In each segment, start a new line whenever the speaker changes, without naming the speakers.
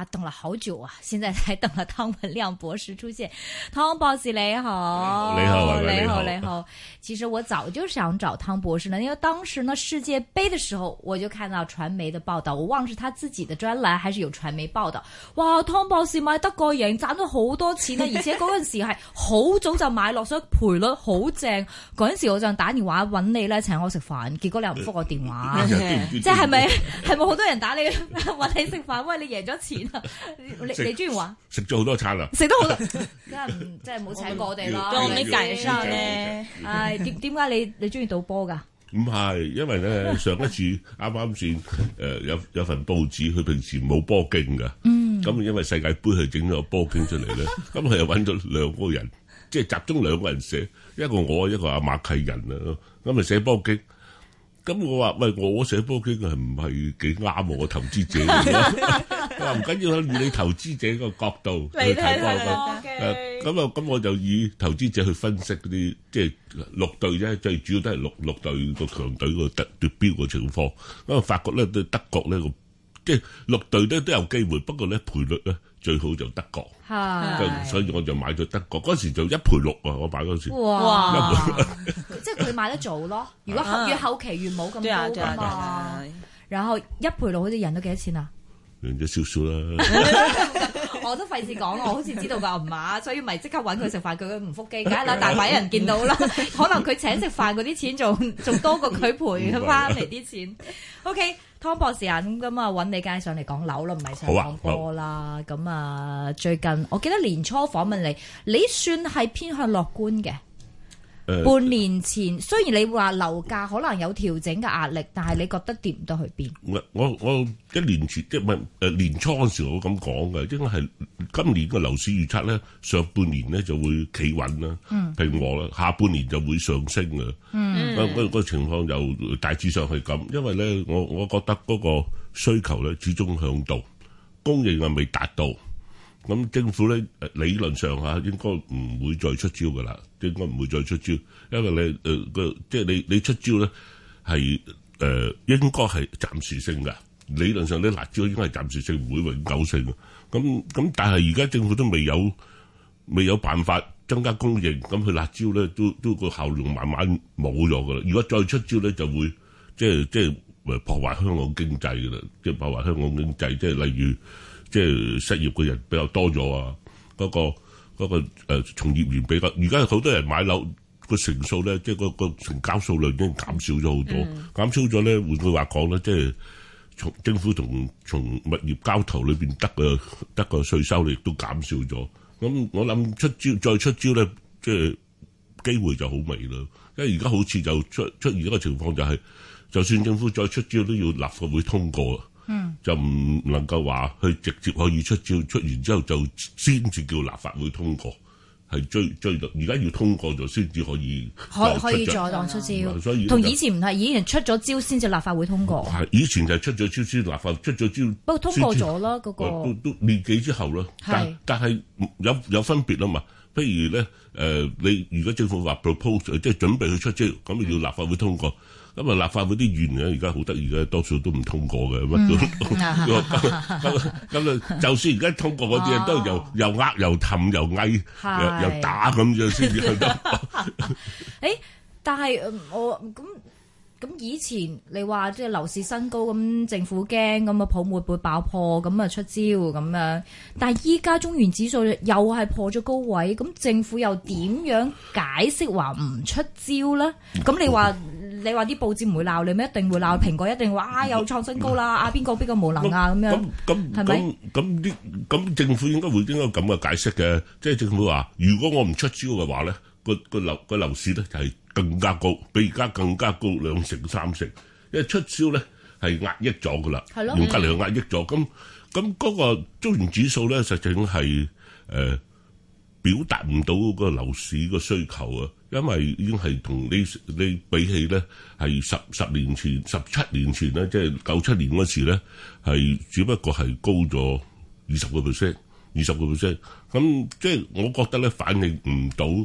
哇，等了好久啊，現在才等了湯文亮博士出現。湯博士你好，你好。其實我早就想找湯博士呢，因為當時呢世界盃的時候，我就看到傳媒的報道，我忘了是他自己的專欄還是有傳媒報道。哇，湯博士買德國贏賺咗好多錢啊，而且嗰陣時係好早就買落，所以賠率好正。嗰陣時我就打電話揾你咧請我食飯，結果你又唔覆我電話，即係咪好多人打你揾你食飯？喂，你贏咗錢啊！你中意話
食咗好多餐啦，
食得好多，即係冇請過我哋咯。
你趕上咧，
唉，點解你中意賭波㗎？
唔係，因為咧上一次啱先有份報紙，佢平時冇波經㗎，咁因為世界盃佢整咗個波經出嚟咧，咁佢又揾咗兩個人，即係集中兩個人寫，一個我，一個阿馬契人啊，咁咪寫波經。咁我話喂，我寫波經係唔係幾啱我投資者？佢話唔緊要，以你投資者個角度去睇波經。咁我就以投資者去分析嗰啲即係六隊啫，最主要都係六隊個強隊個奪標個情況。咁啊，發覺咧對德國咧個即係六隊咧都有機會，不過咧賠率咧最好就德國。所以我就買咗德國，嗰時就1賠6啊！我買嗰時。
哇！即係佢買得早咯。如果越後期越冇咁高㗎嘛。然後1賠6好似贏咗幾多錢啊？
贏咗少少啦。
我都費事講，我好似知道個唔碼，所以咪即刻揾佢食飯，佢唔覆機，梗係啦，大把人見到啦。可能佢請食飯嗰啲錢仲多過佢賠佢翻嚟啲錢。OK，湯博士啊，咁啊揾你梗係上嚟講樓啦，唔係上講波啦。咁啊，最近我記得年初訪問你算係偏向樂觀嘅。半年前雖然你話樓價可能有調整嘅壓力，但係你覺得跌唔得去邊？
我1年前即係年初嗰時我咁講嘅，應該係今年嘅樓市預測咧，上半年咧就會企穩啦，平和啦，下半年就會上升嘅。個情況就大致上係咁，因為咧我覺得嗰個需求咧始終響度，供應係未達到。咁政府咧理論上嚇應該唔會再出招㗎啦，應該唔會再出招，因為即係你出招咧係應該係暫時性㗎。理論上啲辣招應該係暫時性，唔會永久性嘅。咁但係而家政府都未有辦法增加供應，咁佢辣招咧都個效用慢慢冇咗㗎啦。如果再出招咧，就會即係破壞香港經濟㗎啦，即係破壞香港經濟，即係例如。即係失業嘅人比較多咗啊！嗰個從業員比較，而家好多人買樓個成數咧，即係個成交數量已經減少咗好多。減少咗咧，換句話講咧，即係從政府從物業交投裏邊得個稅收亦都減少咗。咁我諗再出招咧，即係機會就好微啦。因為而家好似就出現一個情況，就係就算政府再出招，都要立法會通過。就唔能夠話去直接可以出招，出完之後就先至叫立法會通過，係追到而家要通過咗先至可以
再當出招，所以同以前唔係，以前出咗招先至立法會通過。
係以前就係出咗招先立法出咗招，
不過通過咗啦嗰個
都年幾之後啦。但係有分別啊嘛。譬如咧你如果政府話 propose 即係準備去出招，咁要立法會通過。咁啊！立法會啲議員咧，而家好得意嘅，多數都唔通過嘅，乜都咁啊！就算而家通過嗰啲人都又呃又氹又翳又打咁樣先至去得。
誒，但係我咁以前你話即係樓市新高，咁政府驚咁啊泡沫會爆破，咁啊出招咁樣。但係依家中原指數又係破咗高位，咁政府又點樣解釋話唔出招咧？咁你話啲報紙唔會鬧你咩？一定會鬧，蘋果一定話又創新高啦！邊個無能啊咁樣？係咪？
咁政府應該咁嘅解釋嘅，即係政府話，如果我唔出招嘅話咧，個樓市咧就係更加高，比而家更加高2成3成，因為出招咧係壓抑咗噶啦，用隔離壓抑咗。咁嗰個中原指數咧，實際上係表達唔到嗰個樓市個需求啊，因為已經係同你比起咧係十年前、17年前咧，即係97年嗰時咧係只不過係高咗20%。咁即係我覺得咧反映唔到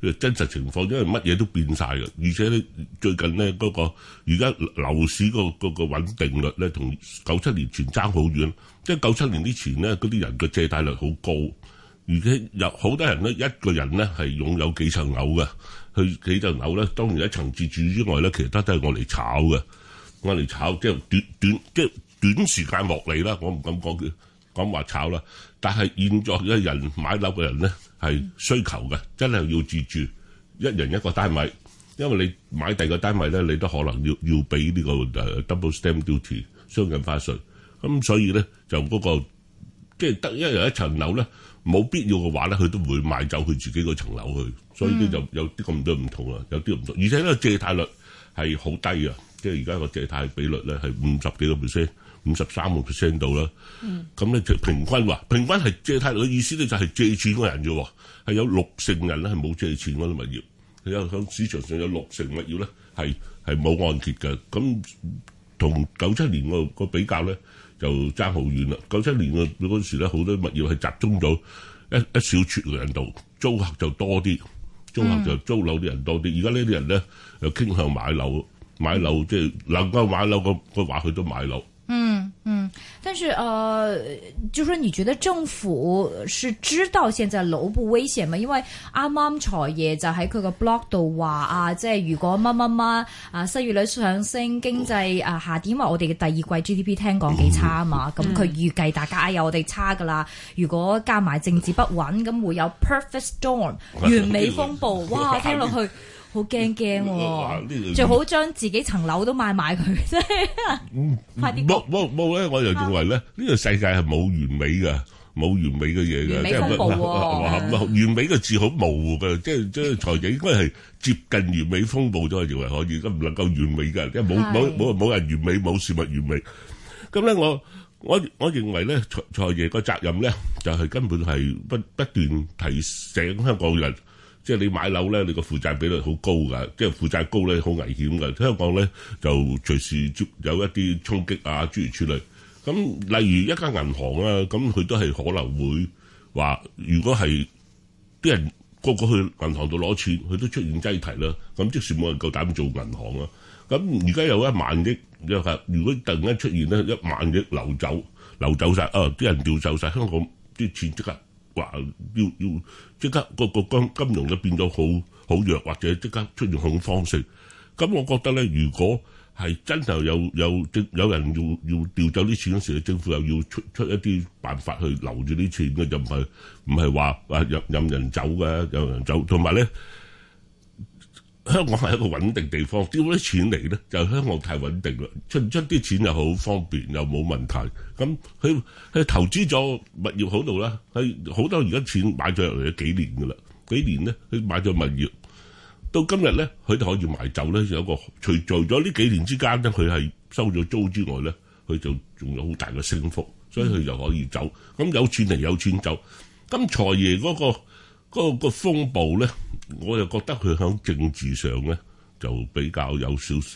真實情況，因為乜嘢都變晒嘅，而且咧最近咧嗰個而家樓市嗰個穩定率咧，同97年前爭好遠。即係97年之前咧，嗰啲人嘅借貸率好高，而且有好多人咧，一個人咧係擁有幾層樓嘅，佢幾層樓咧，當然一層自住之外咧，其他都係我嚟炒嘅，我嚟炒即係短時間獲利啦，我唔敢講話炒啦。但係現在嘅人買樓嘅人咧係需求嘅，真係要自住，一人一個單位，因為你買第二個單位咧，你都可能要俾呢個double stamp duty 雙印花稅，咁所以咧就嗰個即係得一人一層樓咧，冇必要嘅話咧，佢都唔會賣走佢自己嗰層樓去，所以咧就有啲咁多唔同啦，有啲唔同，而且咧借貸率係好低啊，即係而家個借貸比率咧係50幾個 percent。53% 度啦，咁咧就平均係借貸嘅意思咧，就係借錢嘅人啫，係有60%人咧係冇借錢嗰啲物業，有響市場上有60%物業咧係冇按揭嘅，咁同97年個比較咧就爭好遠啦。97年嗰時咧好多物業係集中咗一小撮嘅人度，租客就多啲，租客就租樓啲人多啲。而家呢啲人咧又傾向買樓即係能夠買樓個話，佢都買樓。
但是就說你覺得政府是知道現在樓不危險嗎？因為啱啱財爺就喺佢個 blog 度話啊，即係如果乜失業率上升，經濟下跌，因為我哋嘅第二季 GDP 聽講幾差啊嘛，咁佢預計大家有我哋差噶啦。如果加埋政治不穩，咁會有 perfect storm 完美風暴，哇！聽落去好驚喎，最好將自己層樓都賣埋佢，真係快啲。
冇咧，我就認為咧，呢個世界係冇完美嘅，冇完美嘅嘢嘅。
完美風暴喎，
完美嘅字好模糊嘅，即係財爺應該係接近完美風暴咗，我認為可以，咁唔能夠完美嘅，即係冇人完美，冇事物完美。咁咧，我認為咧，財爺個責任咧，就係根本係不斷提醒香港人。即係你買樓咧，你個負債比率好高㗎，即係負債高咧好危險㗎。香港咧就隨時有一啲衝擊啊，諸如此類。咁例如一間銀行啊，咁佢都係可能會話，如果係啲人個個去銀行度攞錢，佢都出現擠提啦。咁即使冇人夠膽做銀行啊。咁而家有1萬億，如果突然間出現咧1萬億流走晒，啲人調走晒，香港啲錢即刻。話要即刻個金融咧變咗好弱，或者即刻出現恐慌性。咁我覺得咧，如果係真係有人要調走啲錢嗰時，政府又要出一啲辦法去留住啲錢嘅，就唔係話任人走嘅，有人走。同埋咧，香港係一個穩定地方，丟啲錢嚟咧，就香港太穩定啦，出啲錢又好方便，又冇問題。咁佢投資咗物業好度啦，佢好多而家錢買咗入嚟幾年噶啦，幾年咧佢買咗物業，到今日咧佢哋可以賣走咧，有一個除咗呢幾年之間咧，佢係收咗租之外咧，佢就仲有好大嘅升幅，所以佢就可以走。咁有錢嚟有錢走。咁財爺嗰個風暴咧，我又覺得佢喺政治上咧就比較有少少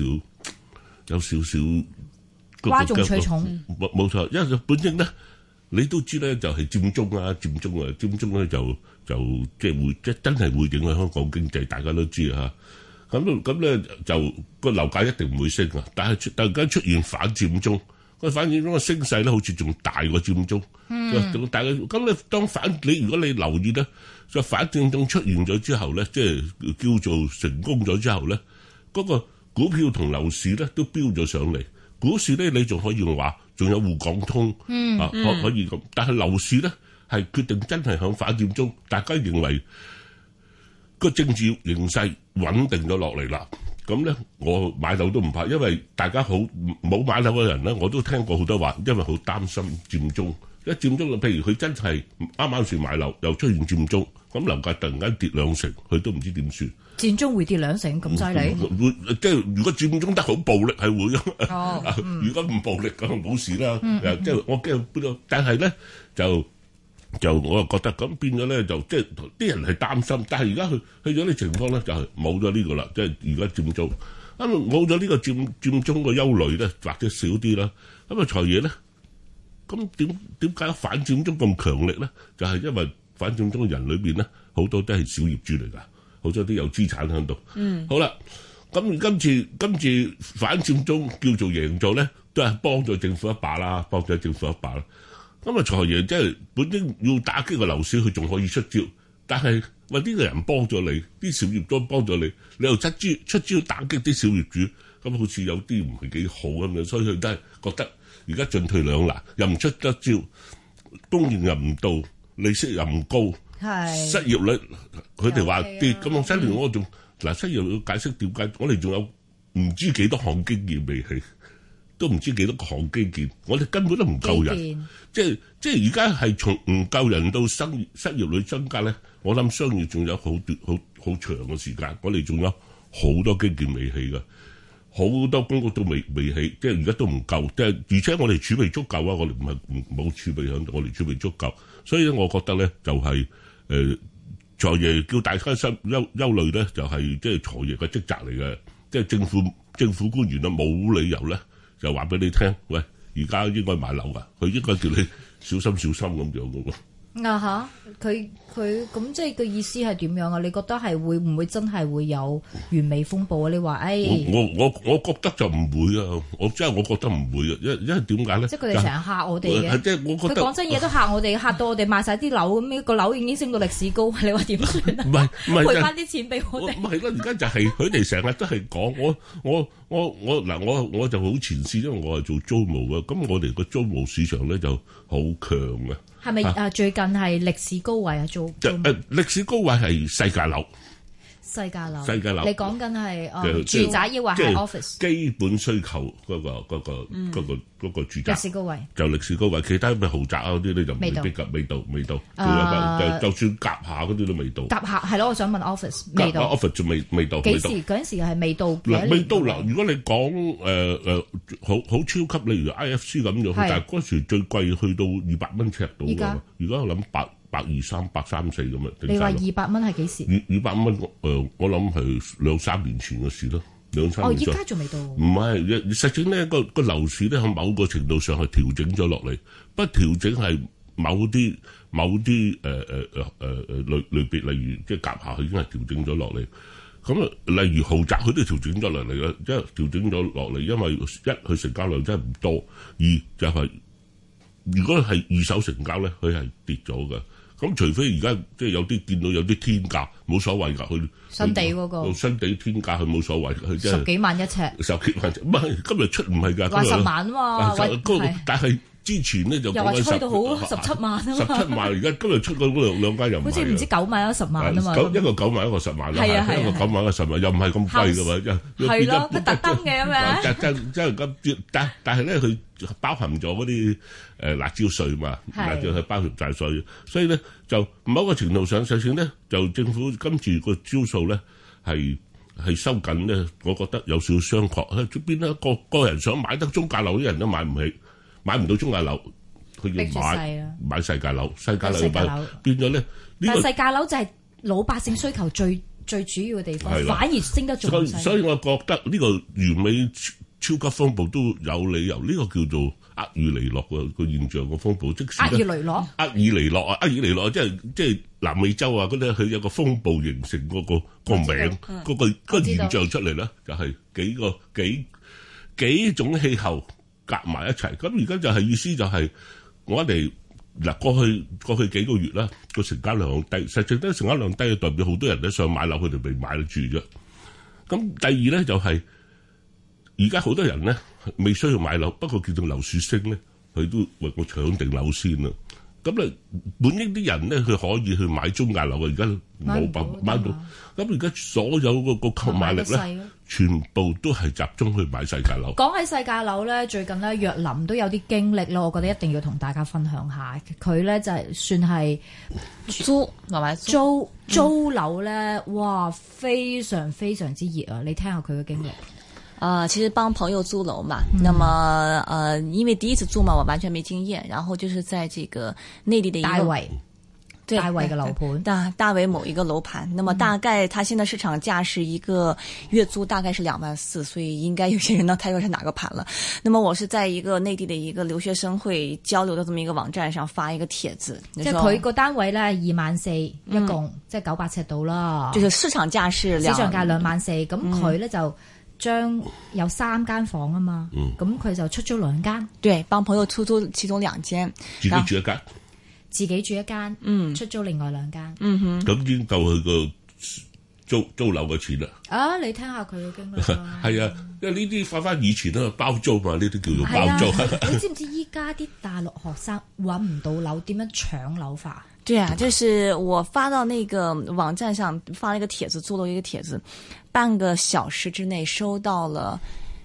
嘩眾取寵。
冇錯，因為本應咧你都知咧，就係佔中咧就即係會即真係會影響香港經濟，大家都知啊。咁咧就個樓價一定唔會升啊，但係突然間出現反佔中。反佔中嘅升勢咧，好似仲大過佔中，仲大過。咁你如果你留意咧，就反佔中出現咗之後咧，即係叫做成功咗之後咧，嗰個股票同樓市咧都飆咗上嚟。股市咧你仲可以話，仲有滬港通可以咁，但係樓市咧係決定真係響反佔中，大家認為個政治形勢穩定咗落嚟啦。咁咧，我買樓都唔怕，因為大家好冇買樓嘅人咧，我都聽過好多話，因為好擔心佔中。一佔中，譬如佢真係啱啱先買樓，又出現佔中，咁樓價突然間跌2成，佢都唔知點算。
佔中會跌2成咁犀利？
會即係如果佔中得好暴力係會，如果唔暴力咁冇事啦。即係我驚，但係咧就我又覺得咁變咗咧，就即係啲人係擔心，但係而家去咗啲情況咧，就係冇咗呢個啦，即係而家佔中，咁冇咗呢個佔中個憂慮咧，或者少啲啦。咁啊財爺咧，咁點解反佔中咁強力咧？就係因為反佔中嘅人裏邊咧，好多都係小業主嚟㗎， 好多啲有資產喺度。好啦，咁今次反佔中叫做贏咗咧，都係幫咗政府一把啦，幫咗政府一把啦。咁啊，財爺即係本應要打擊個樓市，佢仲可以出招，但係喂呢個人幫咗你，啲小業都幫咗你，你又出招打擊啲小業主，咁好似有啲唔係幾好咁樣，所以佢都係覺得而家進退兩難，又唔出得招，供應又唔到，利息又唔高，失業率佢哋話跌，咁我新年我仲嗱失業率解釋點解，我哋仲有唔知幾多項基建未起。都唔知幾多個項基建，我哋根本都唔夠人，即係而家係從唔夠人到失業率增加咧，我諗商業仲有好長嘅時間，我哋仲有好多基建未起㗎，好多公屋都未起，即係而家都唔夠，即係而且我哋儲備足夠啊，我哋唔係冇儲備響度，我哋儲備足夠，所以咧，我覺得咧就係財爺叫大家憂慮咧，就係即係財爺嘅職責嚟嘅，即係政府官員啊冇理由咧。就話俾你聽，喂，而家應該買樓㗎，佢應該叫你小心咁樣嘅喎。
佢咁即係個意思係點樣啊？你覺得係會唔會真係會有完美風暴啊？你話
我覺得就唔會啊！我覺得唔會啊！因為點解咧？
即係佢哋成日嚇我哋嘅。即係我覺得佢講真嘢都嚇我哋，嚇到我哋賣晒啲樓咁，個樓已經升到歷史高，你話點算啊？唔係賠翻啲錢俾我哋。唔係咯，而家就係佢哋成日都係講我就好前線，因為我係做租務嘅，咁我哋個租務市場咧就好強嘅。係咪最近係歷史高位啊？
歷史高位係世界樓。
世界樓，你講緊係住宅抑或係 office？基
本需求嗰個住宅。
歷史高位
就歷史高位，其他咩豪宅啊嗰啲咧就未必㗎，未到。就算夾下嗰啲都未到。夾下係咯，我想問 office 未到。office 仲未到。幾時嗰陣時係未到？未到嗱，如果你講好超級，例如 IFC 咁樣，但係嗰時最貴去到200蚊尺度㗎。而家我諗123、134咁啊！
你話200蚊係幾時
？200蚊我諗係2-3年前嘅事咯，2-3年前。
而家仲未到。
唔係，實際咧個樓市咧喺某個程度上係調整咗落嚟，不調整係某啲類別，例如即係夾下，佢已經係調整咗落嚟。咁啊，例如豪宅佢都調整咗落嚟啦，即係調整咗落嚟，因為一佢成交量真係唔多，二就係如果係二手成交咧，佢係跌咗嘅。咁除非而家即係有啲見到有啲天價，冇所謂㗎，佢
新地嗰個
新地天價佢冇所謂，佢即係
10幾萬一尺，
唔係今日出唔係㗎，
話10萬啊嘛，
但係之前咧就
又話吹到好17萬啊嘛
，17萬而家今日出嗰兩間又唔係，
好似唔知9萬10萬啊嘛，
一個9萬一個10萬啦，一個9萬一個10萬又唔係咁貴㗎嘛，
係咯，佢特登嘅咁樣，
真係咁，但係咧佢包含咗嗰啲辣椒稅嘛，辣椒係包含晒稅，所以咧就某個程度上，實際咧就政府今次個招數咧係收緊咧，我覺得有少少商榷。邊咧個人想買得中價樓啲人都買唔起，買唔到中價樓，佢要買世界樓，世界樓變咗咧。但係世界樓就係老百姓需求最主要嘅地方，反而升得仲犀利。所以我覺得呢個完美超級風暴都有理由，呢個叫做厄爾尼諾個現象個風暴，即使厄爾尼諾即係南美洲啊嗰啲，佢有個風暴形成嗰個名，嗰個現象出嚟咧，就係幾種氣候夾埋一齊。咁而家就係意思就係我哋嗱過去幾個月啦，個成交量低，實際咧成交量低，代表好多人咧想買樓，佢哋未買得住啫。咁第二咧就係。而家好多人咧未需要買樓，不過叫做樓市升咧，佢都為我搶定樓先啦。咁咧，本應啲人咧，佢可以去買中價樓嘅，而家冇辦法買到。咁而家所有個購買力咧，全部都係集中去買世界樓。
講起世界樓咧，最近咧若琳都有啲經歷咯，我覺得一定要同大家分享下。佢咧就係算係租樓咧，哇，非常非常之熱啊！你聽下佢嘅經歷。
其實幫朋友租樓嘛，那麼因為第一次租嘛，我完全沒經驗，然後就是在這個內地的一個
大圍嘅樓盤，
大圍某一個樓盤，那麼大概它現在市場價是一個月租大概是24000，所以應該有些人呢猜出是哪個盤了。那麼我是在一個內地的一個留學生會交流的這麼一個網站上發一個帖子，
即係佢個單位咧24000一共，即係900尺度啦。
就是市場價是
24000，咁佢咧就將有3間房啊嘛，咁佢就出租2間，
對，幫朋友出租其中2間，
自己住一間。
自己住一間，出租另外2間。
咁已經夠佢個租樓嘅錢啦。
啊，你聽下佢嘅經歷啦。
係啊，因為呢啲翻以前咧包租嘛，呢啲叫做包租。
你知唔知依家啲大陸學生揾唔到樓，點樣搶樓法？
對啊，就是我發到那個網站上發了一個帖子，做了一個帖子，半個小時之內收到了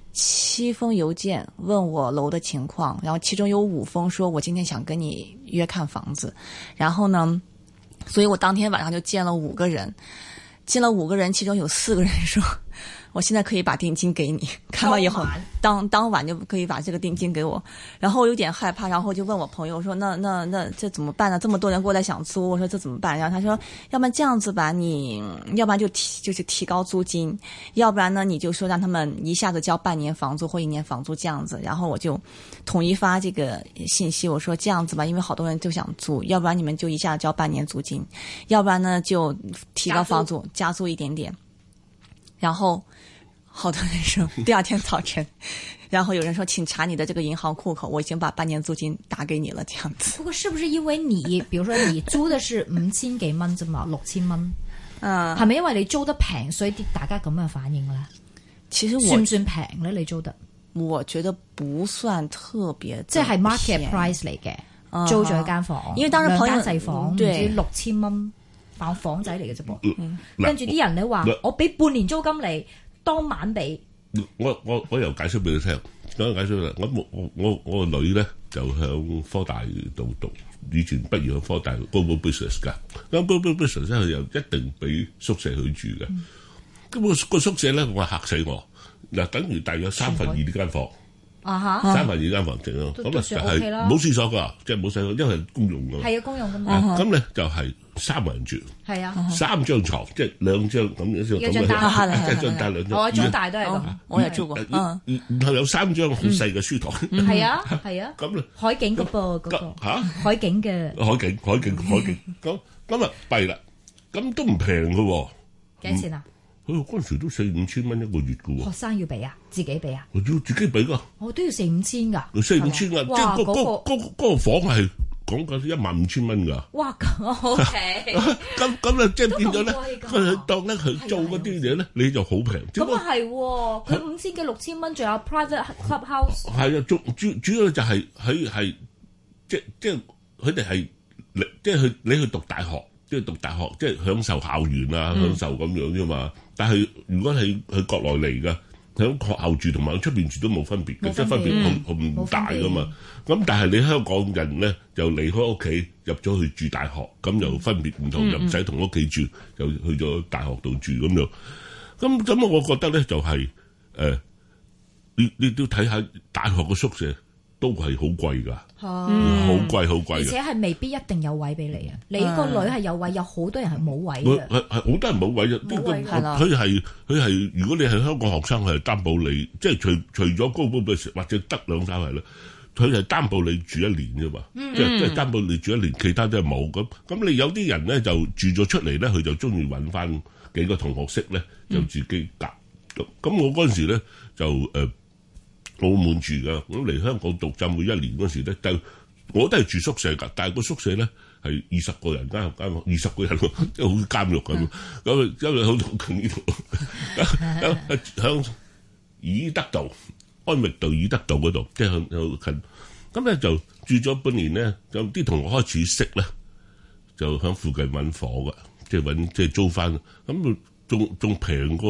7封郵件問我樓的情況，然後其中有5封說我今天想跟你約看房子，然後呢，所以我當天晚上就見了5個人，其中有4個人說我現在可以把定金給你，看完以後當晚就可以把這個定金給我，然後我有點害怕，然後就問我朋友說那這怎麼辦呢？這麼多人過來想租，我說這怎麼辦？然後他說要不然這樣子吧，你要不然就是提高租金，要不然呢你就說讓他們一下子交半年房租或1年房租這樣子，然後我就統一發這個信息，我說這樣子吧，因為好多人就想租，要不然你們就一下子交半年租金，要不然呢就提高房租加租一點點，然後好多人說第2天早晨，然後有人說請查你的這個銀行戶口，我已經把半年租金打給你了，這樣子。
不過是不是因為你，比如說你租的是5000幾蚊啫嘛，6000蚊，係咪因為你租得平，所以啲大家咁嘅反應咧？
其實
算唔算平咧？你租得？
我覺得不算特別，
即係 market price 嚟嘅，租咗一間房，
因為當時朋友
2間細房，唔知6000蚊，房仔嚟嘅啫噃。跟住啲人你話我俾半年租金你。當晚俾
我又解釋俾你聽，講解釋啦。我個女咧就響科大度讀，以前畢業響科大 Global Business 㗎。咁 Global Business 咧佢又一定俾宿舍佢住嘅。咁個宿舍咧我嚇死我嗱，等於大約2/3呢間房。3/2間房淨咯，咁啊係冇廁所㗎，即係冇洗手，因為係公用㗎。
係啊，公用㗎嘛。
咁咧就係3個人住。係啊，3張床，即係2張咁樣
一張大，
一張大2張。
我中大都係咁，
我有住過。
然後有3張好細嘅書台。
係啊，係啊。
咁咧
海景嘅噃，嗰個海景嘅。
海景。咁啊弊啦，咁都唔平㗎喎。
幾多錢啊？
嗰陣時都4-5千蚊一個月㗎喎。
學生要俾啊？自己俾啊？
我要自己俾㗎。
我都要4-5千㗎。
4-5千㗎，即係嗰個房係講緊15000蚊㗎。
哇，咁 OK。
咁啊，即係變咗咧，佢當咧佢做嗰啲嘢咧，你就好平。
咁啊係喎，佢5000幾6000蚊，仲有 private clubhouse。
係啊，主要就係佢係即係佢哋係即係你去讀大學，即係讀大學，即係享受校園啊，享受咁樣啫嘛。但係如果係去國內嚟㗎，喺學校住同埋喺出邊住都冇分別嘅，即係分別好唔大㗎嘛。咁但係你香港人咧就離開屋企入咗去住大學，咁又分別唔同，又唔使同屋企住，又去咗大學度住咁樣。咁我覺得咧就係你都睇下大學嘅宿舍都係好貴㗎，好貴，
而且係未必一定有位俾你啊！你個女係有位，有好多人係冇位嘅。
係好多人冇位嘅，佢係如果你係香港學生，係擔保你，即係除咗高嘅或者得2-3係啦，佢係擔保你住1年啫嘛，即係擔保你住1年，其他都係冇咁。咁你有啲人咧就住咗出嚟咧，佢就中意揾翻幾個同學識咧，就自己夾。咁我嗰陣時咧就澳門住噶，咁嚟香港讀浸會1年嗰時咧，但我都係住宿舍噶，但係個宿舍咧係20個人間，20個人即係好似監獄咁。咁因為好近呢度，響怡德道、安域道、怡德道嗰度，即係向近。咁咧就住咗半年咧，有啲同學開始識咧，就響附近揾房噶，即係租翻。咁仲平過住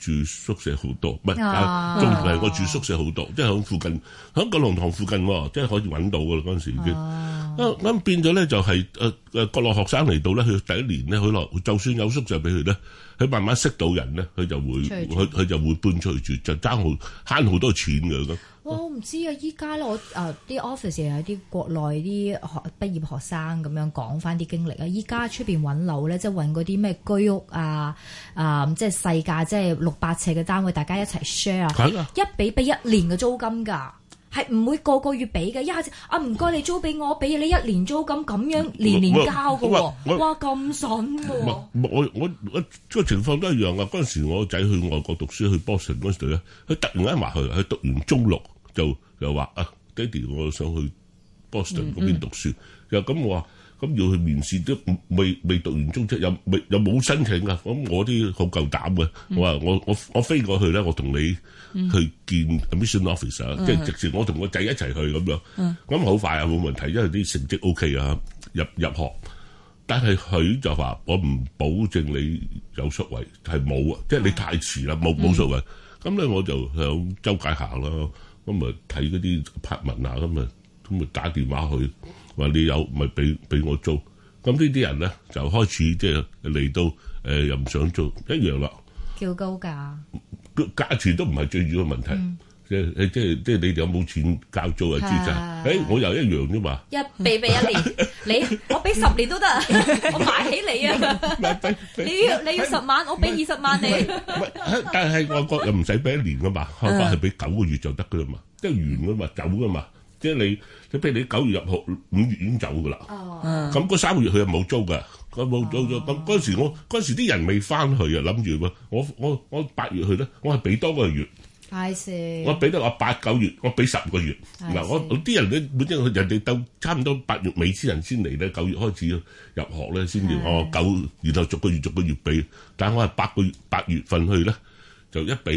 住宿舍好多，唔係仲係我住宿舍好多，即係喺附近，喺九龍塘附近，即係可以揾到噶啦嗰陣時已經。咁變咗咧就係國內學生嚟到咧，佢第一年咧，佢就算有宿舍俾佢咧，佢慢慢識到人咧，佢就會搬出去住，就慳好多錢㗎咁。
我唔知啊！依家咧，我啲 office 又有啲國內啲畢業學生咁樣講翻啲經歷啊！依家出邊揾樓咧，即係揾嗰啲咩居屋啊，即係細價，即係600尺嘅單位，大家一齊 share 啊，一俾一年嘅租金㗎，係唔會個個月俾嘅，一下子唔該你租俾我，俾你1年租金咁樣年年交㗎喎，哇咁筍喎！
我個情況都一樣啊！嗰陣時我仔去外國讀書去 Boston 嗰時咧，佢突然間話佢讀完中六。就話爹哋，我想去 Boston 嗰邊讀書。又咁我話咁要去面試都未讀完中職，又冇申請啊。咁我啲好夠膽嘅，我話我飛過去咧，我同你去見 admission officer，即係直接我同個仔一齊去咁樣。咁好快啊，冇問題，因為啲成績 OK 啊，入學。但係佢就話我唔保證你有宿位，係冇啊，即係你太遲啦，冇宿位。咁咧我就向周街行啦。咁咪睇嗰啲拍文啊，咁咪打電話去話你有咪俾我租。咁呢啲人咧就開始即係嚟到又唔想租一樣啦，
叫高價，
價錢都唔係最主要問題，即係你哋有冇錢交租啊？資產我又一樣啫嘛，
俾1年，我俾10年都得，我買起你啊！你要10萬，我俾20萬你。
但係外國又唔使俾1年噶嘛，外國係俾9個月就得噶啦嘛，即係完噶嘛，走噶嘛。即係你譬如你9月入學，5月已經走噶啦。咁嗰3個月佢又冇租噶，佢冇租咗。咁嗰時啲人未翻去啊，諗住我8月去咧，我係俾多個月。我俾得我8、9月，我俾10個月。嗱，我啲人咧本身人哋到差唔多8月尾先嚟咧，9月開始入學咧先至9，然後逐個月俾。但係我係8月份去咧，就一俾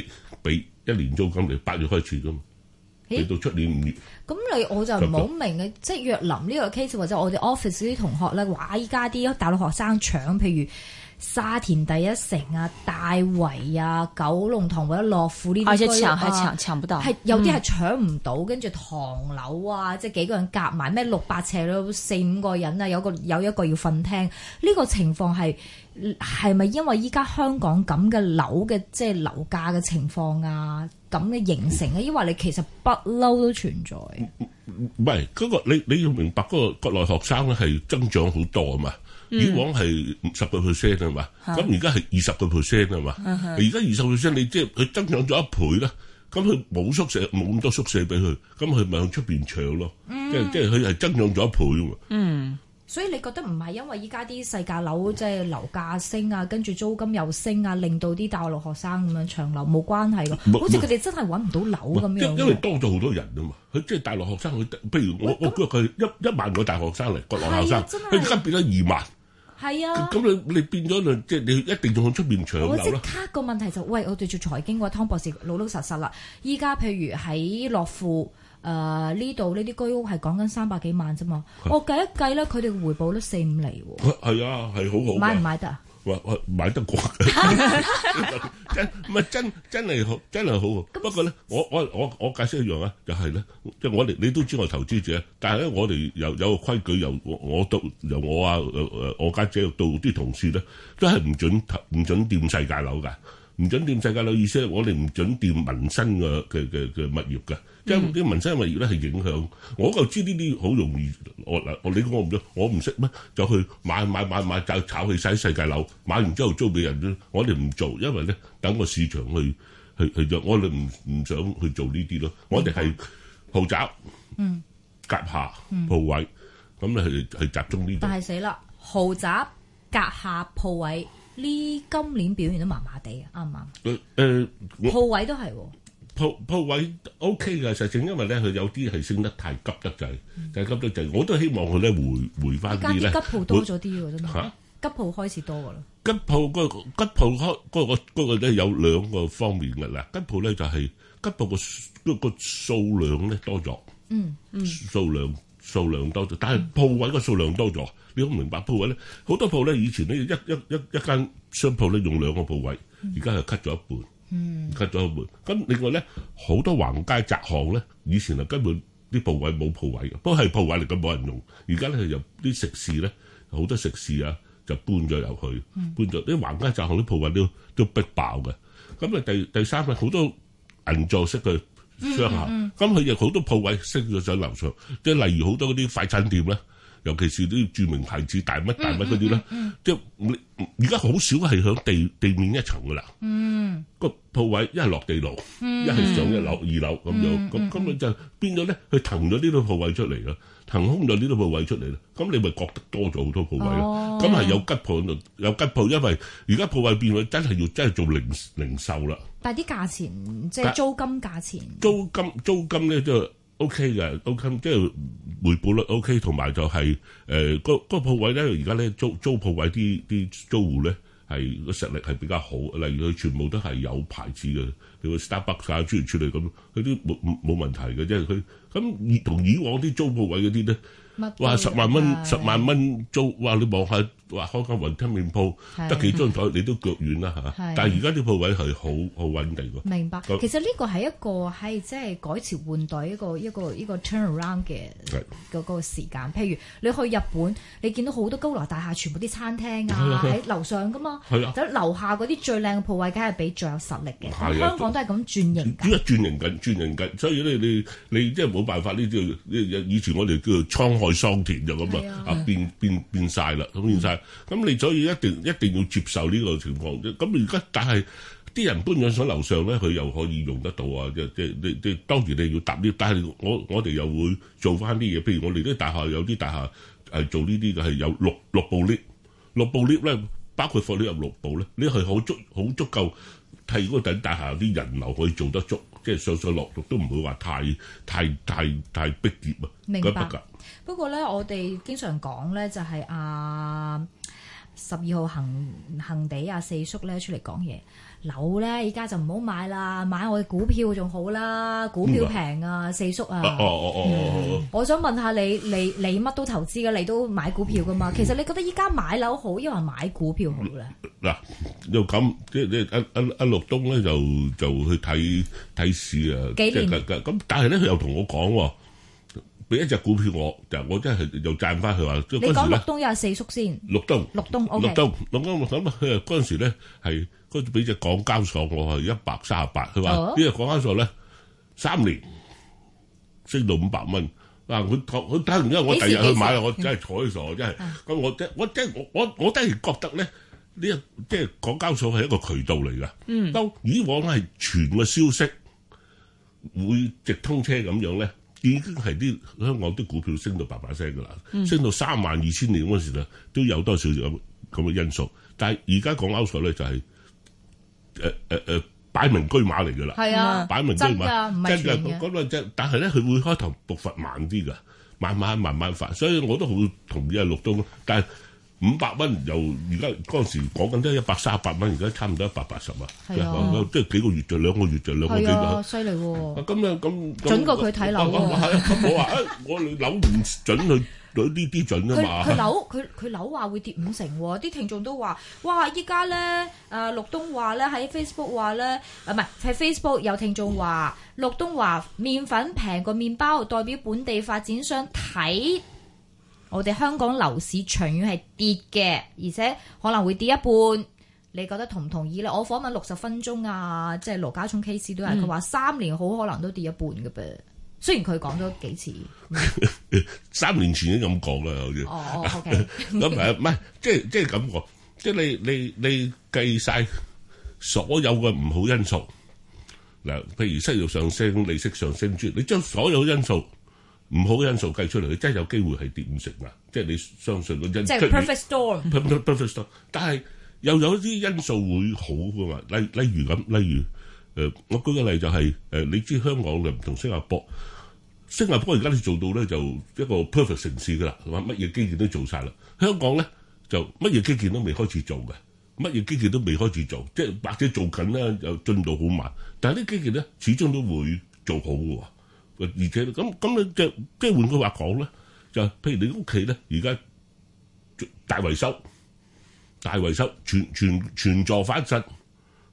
1年租金嚟，8月開始噶嘛，俾到出年5月。
咁我就唔好明嘅，即係若林呢個 case 或者我哋 office 啲同學咧，話依家啲大陸學生搶，譬如沙田第一城啊、大圍啊、九龍塘或者樂富呢啲居屋啊，
搶不到，
係有啲係搶唔到，跟住唐樓啊，即係幾個人夾埋咩600尺咯，4、5個人啊，有一個要瞓廳，呢個情況係咪因為依家香港咁嘅樓嘅即係樓價嘅情況啊咁嘅形成啊？因為你其實不嬲都存在。
唔係嗰個你要明白嗰個國內學生咧係增長好多啊嘛。以往係10% 啊嘛，咁而家係20% 啊嘛，而家20%你即係佢增長咗1倍啦，咁佢冇宿舍冇咁多宿舍俾佢，咁佢咪向出邊搶咯，即係佢係增長咗1倍啊嘛。
所以你覺得唔係因為依家啲細價樓即係樓價升啊，跟住租金又升啊，令到啲大陸學生咁樣搶樓冇關係㗎，好似佢哋真係揾唔到樓咁樣。
因為多咗好多人啊嘛，佢即係大陸學生，佢譬如我估佢1萬個大學生嚟，國內學生，佢而家變咗2萬。係啊，咁你變咗即係你一定要去出邊搶樓啦。我即刻
個問題就喂，我哋做財經嘅湯博士老實啦。依家譬如喺樂富呢度呢啲居屋係講緊300幾萬啫嘛，我計一計咧，佢哋嘅回報率4-5厘喎。係
啊，係好好。
買唔買得啊？
買得過，真係好，真係好。不過咧，我解釋一樣啊，就係咧，即係我哋你都知我投資者，但係咧我哋有個規矩，由我家姐到啲同事咧，都係唔準掂世界樓㗎。唔準掂世界樓意思係我哋唔準掂民生嘅物業嘅，即係啲民生物業咧係影響。我就知呢啲好容易，我唔識咩，就去買就炒起晒世界樓，買完之後租俾人啫。我哋唔做，因為咧等個市場去做，我哋唔想去做呢啲咯。我哋係豪宅、甲廈、鋪位，咁咧係集中呢啲。
但係死啦，豪宅、甲廈、鋪位。呢今年表現都麻麻地啊，啱唔啱？鋪位都係喎，
鋪位 OK 嘅，實情因為咧佢有啲係升得太急得滯，就係急得滯。我都希望佢咧回翻啲咧。
吉鋪多咗啲喎，真係。嚇！吉鋪開始多㗎啦。吉
鋪嗰個咧有2個方面㗎啦。吉鋪咧就係吉鋪個數量咧多咗。數量多咗，但係鋪位個數量多咗，你好明白鋪位咧，好多鋪咧以前咧一間商鋪咧用2個鋪位，而家係 cut 咗一半， 吉咗門。咁另外咧，好多橫街窄巷咧，以前根本啲鋪位冇鋪位嘅，不過係鋪位嚟嘅冇人用。而家咧有啲食肆咧，好多食肆啊就搬咗入去，搬咗啲橫街窄巷啲鋪位都逼爆嘅。咁啊第三咧，好多銀座式嘅商廈，咁佢亦好多鋪位升咗上樓上，即係例如好多嗰啲快餐店咧。尤其是啲著名牌子大乜嗰啲咧，即係而家好少係響地面一層噶啦。個鋪位一係落地牢，一係上一樓、2樓咁樣。咁你就變咗咧，佢騰咗呢啲鋪位出嚟啦，騰空咗呢啲鋪位出嚟啦。咁你咪覺得多咗好多鋪位咯。咁係有吉鋪喺度，有吉鋪，因為而家鋪位變咗真係做零售啦。
但係啲價錢即係租金價錢，
租金咧就 OK 嘅 ，OK 即係回報率 OK， 同埋就係嗰鋪位咧，而家咧租鋪位啲租戶咧係個實力係比較好，例如佢全部都係有牌子嘅，你個 Starbucks 啊諸如此類咁，佢啲冇問題嘅，即係佢咁同以往啲租鋪位嗰啲咧，哇10萬蚊租，哇你望下話開間雲吞麵鋪得幾張台你都腳軟啦嚇，但係而家啲鋪位係好穩定㗎。
明白，其實呢個係一個係即係改朝換代一個 turnaround 嘅嗰個時間。譬如你去日本，你見到好多高樓大廈，全部啲餐廳啊喺樓上㗎嘛，咁樓下嗰啲最靚嘅鋪位，梗係比最有實力嘅。香港都係咁轉型緊，
轉型緊，所以咧你即係冇辦法呢啲，以前我哋叫做滄海桑田就咁啊，變晒啦，咁變晒。咁你所以一定要接受呢個情況啫。咁而家但係啲人搬咗上樓上咧，佢又可以用得到啊！即當然你要搭 lift，但係我哋又會做翻啲嘢。譬如我哋啲大廈有啲大廈係做呢啲嘅，係有六部 lift，6部 lift 咧，包括放呢入6部咧，你係好足夠替嗰等大廈啲人流可以做得足，即係上落都唔會話太逼仄啊！
明白。不過咧，我哋經常講咧，就係12號恒地四叔咧出嚟講嘢，樓咧而家就唔好買啦，買我嘅股票仲好啦，股票平啊，四叔啊。我想問下你乜都投資嘅，你都買股票噶嘛？其實你覺得依家買樓好，抑或買股票好咧？
嗱，又咁即係阿陸東咧就去睇市啊，咁但係咧佢又同我講。俾一隻股票我真係又賺翻佢話。你講陸東又係四叔先。陸東 OK。陸東咁佢嗰陣時咧係嗰陣俾隻港交所我係138，佢話呢隻港交所咧3年升到500蚊。嗱佢睇完之後，我第日去買啦，我真係睬傻真係。咁我真係覺得咧呢即係港交所係一個渠道嚟㗎。當以往係傳個消息會直通車咁樣咧。已經係啲香港啲股票升到8%㗎啦，升到32,000年嗰時咧，都有多少咁嘅因素。但係而家港交所咧就係擺明車馬嚟㗎啦，係啊，擺明車馬，真㗎嗰個真。但係咧，佢會開頭步伐慢啲㗎，慢慢發。所以我都好同意阿陸東，但係500蚊由而家嗰陣時講緊都係138蚊，而家差唔多180啊！係啊，即係幾個月就2個月就2個幾月。係啊，犀利喎！咁準過佢睇樓喎。係啊，咁我話我樓唔準佢呢啲準啊嘛。佢樓話會跌50%喎，啲聽眾都話：哇！依家咧陸東話咧喺 Facebook 話咧，唔係喺 Facebook 有聽眾話，陸東話麵粉平過麵包，代表本地發展商睇。我哋香港樓市長遠係跌嘅，而且可能會跌一半。你覺得同唔同意咧？我訪問60分鐘啊，即係羅家聰 case 都係佢話3年好可能都跌一半嘅噃。雖然佢講咗幾次，3年前已經咁講啦，好似。哦 ，OK。咁唔係，即係咁講，即係你計晒所有嘅唔好因素嗱，譬如失業上升、利息上升，你將所有因素。唔好因素計出嚟，佢真係有機會係跌50%啊！即係你相信個因素，即係 perfect storm。perfect storm， 但係又有啲因素會好㗎嘛？例如我舉個例就係你知香港就唔同新加坡而家你做到咧就一個 perfect 城市㗎啦，話乜嘢基建都做晒啦。香港咧就乜嘢基建都未開始做嘅，乜嘢基建都未開始做，即係或者做緊咧又進度好慢，但係啲基建咧始終都會做好㗎喎。而且咁你即係換句話講咧，就譬如你屋企咧，而家大維修，全座翻新，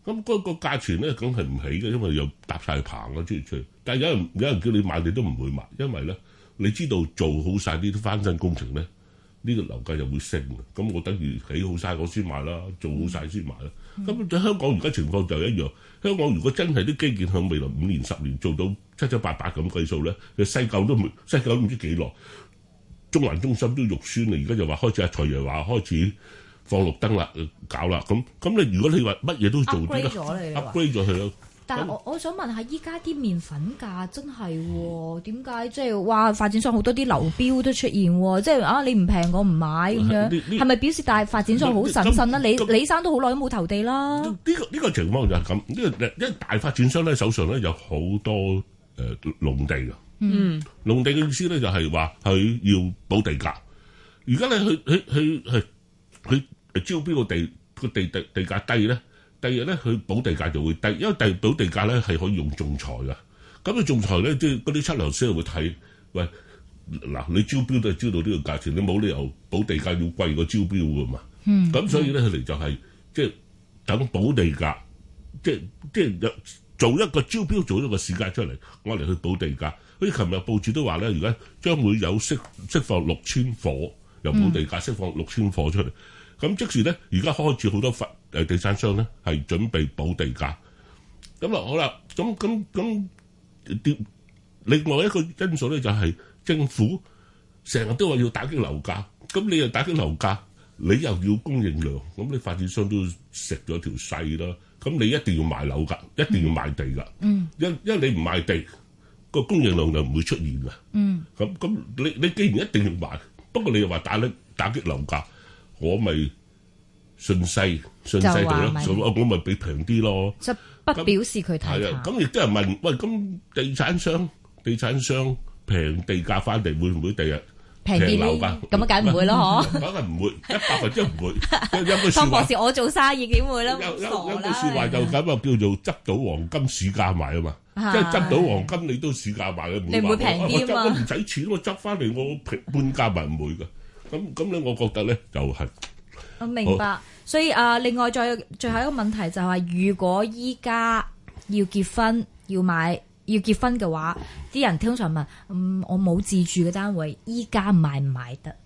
咁嗰個價錢咧，梗係唔起嘅，因為又搭晒棚啊，出嚟。但係有人叫你買，你都唔會買，因為咧，你知道做好晒呢啲翻新工程咧，呢個樓價就會升嘅。咁我等於起好晒我先買啦，做好晒先買啦。咁喺香港而家情況就一樣。香港如果真係啲基建向未來5年、10年做到七七八八咁計數咧，西九都唔知幾耐，中環中心都肉酸啦。而家就話開始財爺話開始放綠燈啦，搞啦。咁你如果你話乜嘢都做啲咧 ，upgrade 咗佢咯。
但係我想問下，依家啲麵粉價真係點解即係話發展商好多啲流標都出現喎？即係你唔平我唔買咁樣，係咪表示大發展商好審慎啦？李生都好耐都冇投地啦。呢
個情況就係咁，因為大發展商咧手上咧有好多農地㗎。農地嘅意思咧就係話佢要補地價。而家咧佢招標個地價低咧。第二咧，佢補地價就會低，因為補地價咧係可以用仲裁㗎。咁你仲裁咧，即係嗰啲測量師會睇，喂嗱，你招標都係招到呢個價錢，你冇理由補地價要貴過招標㗎嘛。咁所以咧，佢哋就係即係等補地價，即係做一個招標，做一個市價出嚟，我嚟去補地價。好似琴日報紙都話咧，而家將會有釋放6000伙，由補地價釋放6000伙出嚟。咁即時咧，而家開始好多地產商咧係準備補地價。咁好啦，咁另外一個因素咧就係政府成日都話要打擊樓價，咁你又打擊樓價，你又要供應量，咁你發展商都食咗條勢啦。咁你一定要賣樓㗎，一定要賣地㗎。因為你唔賣地，個供應量就唔會出現㗎。咁你既然一定要賣，不過你又話打擊樓價。我咪順勢地咯，我咪俾平啲咯。
就不表示佢睇淡。係啊，咁亦都有人問，喂，咁地產商平地價翻嚟會唔會第日平樓價？ 咁啊，梗唔會咯，
梗係唔會，100%唔會。有句説話，
湯博士，我做生意點會咧？
有句説話就咁啊，叫做執到黃金市價賣啊嘛。即係執到黃金你都市價賣嘅，
你唔會平啲啊嘛？
我唔使錢，我執翻嚟我半價賣唔會㗎。咁咧，我覺得咧就係
我明白，所以另外最後一個問題就係，如果依家要結婚要結婚嘅話，啲人通常問，我冇自住嘅單位，依家買唔買得？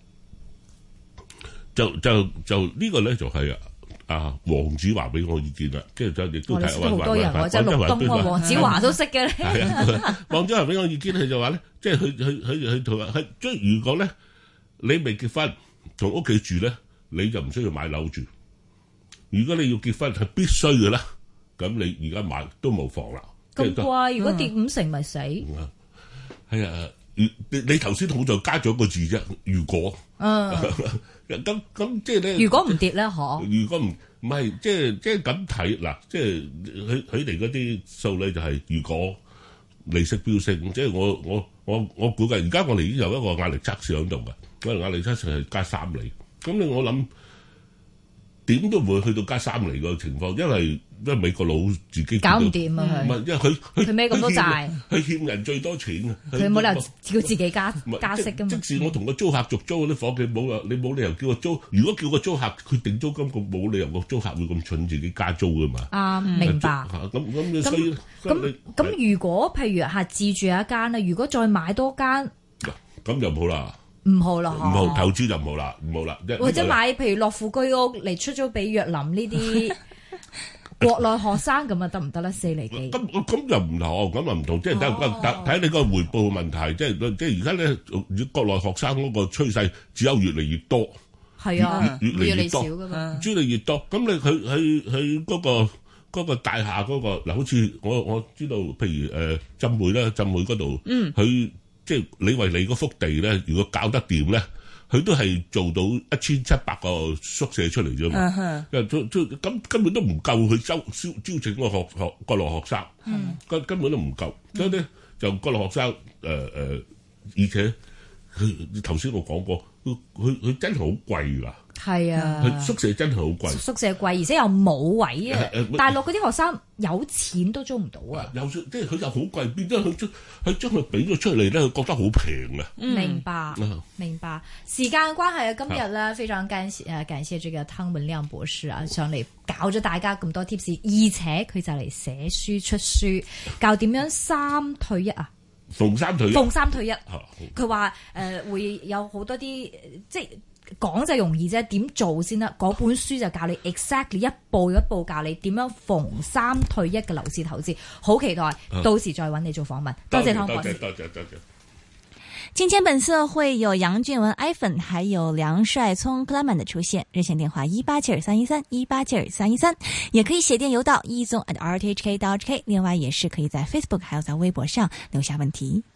就呢個咧就係黃子華俾我意見啦，即係亦都睇
好多人即係陸東啊，黃子華都識嘅咧。
係啊，黃子華俾我意見，佢就話咧，即係佢同話即係如果咧。你未結婚同屋企住咧，你就唔需要買樓住。如果你要結婚係必須嘅啦，咁你而家買都冇妨啦。
咁貴，如果跌50%咪死。
係啊，你頭先好在加咗個字啫，如果。咁即係咧。如果唔跌咧，
如
果唔係，即係咁睇嗱，即係佢哋嗰啲數咧就係如果利息飆升，即係我估計而家我哋已經有一個壓力測試喺度嘅。嗰個壓力測試係加3厘，咁我諗點都唔會去到加3厘個情況，因為美國佬自己
搞唔掂啊！
唔係，因為佢
孭咁多債，
佢欠人最多錢啊！
佢冇理由叫自己加息㗎嘛。即
使我同個租客續租嗰啲伙計你冇理由叫個租，如果叫個租客佢定租金，佢冇理由個租客會咁蠢自己加租㗎嘛。
明白。
所以
咁如果譬如係自住一間咧，如果再買多間，
咁就唔好啦。
唔好啦，
唔好投資就唔好啦，唔好啦。
或者買譬如樂富居屋嚟出租俾若林呢啲國內學生咁啊，得唔得咧？4厘幾？
咁又唔同，咁又唔同，即係睇你個回報問題。即係而家咧，國內學生嗰個趨勢只有越嚟越多。
係啊，
越嚟越
少噶嘛，
越嚟越多。咁你佢嗰個大廈嗰個嗱，好似我知道，譬如浸會嗰度，佢。即係你為你嗰幅地咧，如果搞得掂咧，佢都係做到1700個宿舍出嚟啫嘛。咁根本都唔夠佢招請個國內學生，根本都唔夠。所以咧就國內學生而且佢頭先我講過， 佢真係好貴㗎。
係啊，
佢宿舍真係好貴，
宿舍貴，而且又冇位啊！大陸嗰啲學生有錢都租唔到啊！
有即係佢又好貴，變咗佢將佢俾咗出嚟咧，佢覺得好平啊！
明白，明白。時間關係啊，今日咧非常感謝這個湯文亮博士啊，上嚟教咗大家咁多 tips，而且佢就嚟寫書出書，教點樣3退1啊！
逢三退一，
佢話會有好多啲即係。講就容易啫，點做先得？嗰本書就教你 exactly 一步一步教你點樣逢3退1嘅樓市投資，好期待，到時再揾你做訪問。多謝湯博士。
多謝。
金錢本色會有楊俊文、iPhone， 還有梁帥聰、Clement 的出現。熱線電話1872313，1872313，也可以寫電郵到1宗@rthk.hk。另外也是可以在 Facebook 還有在微博上留下問題。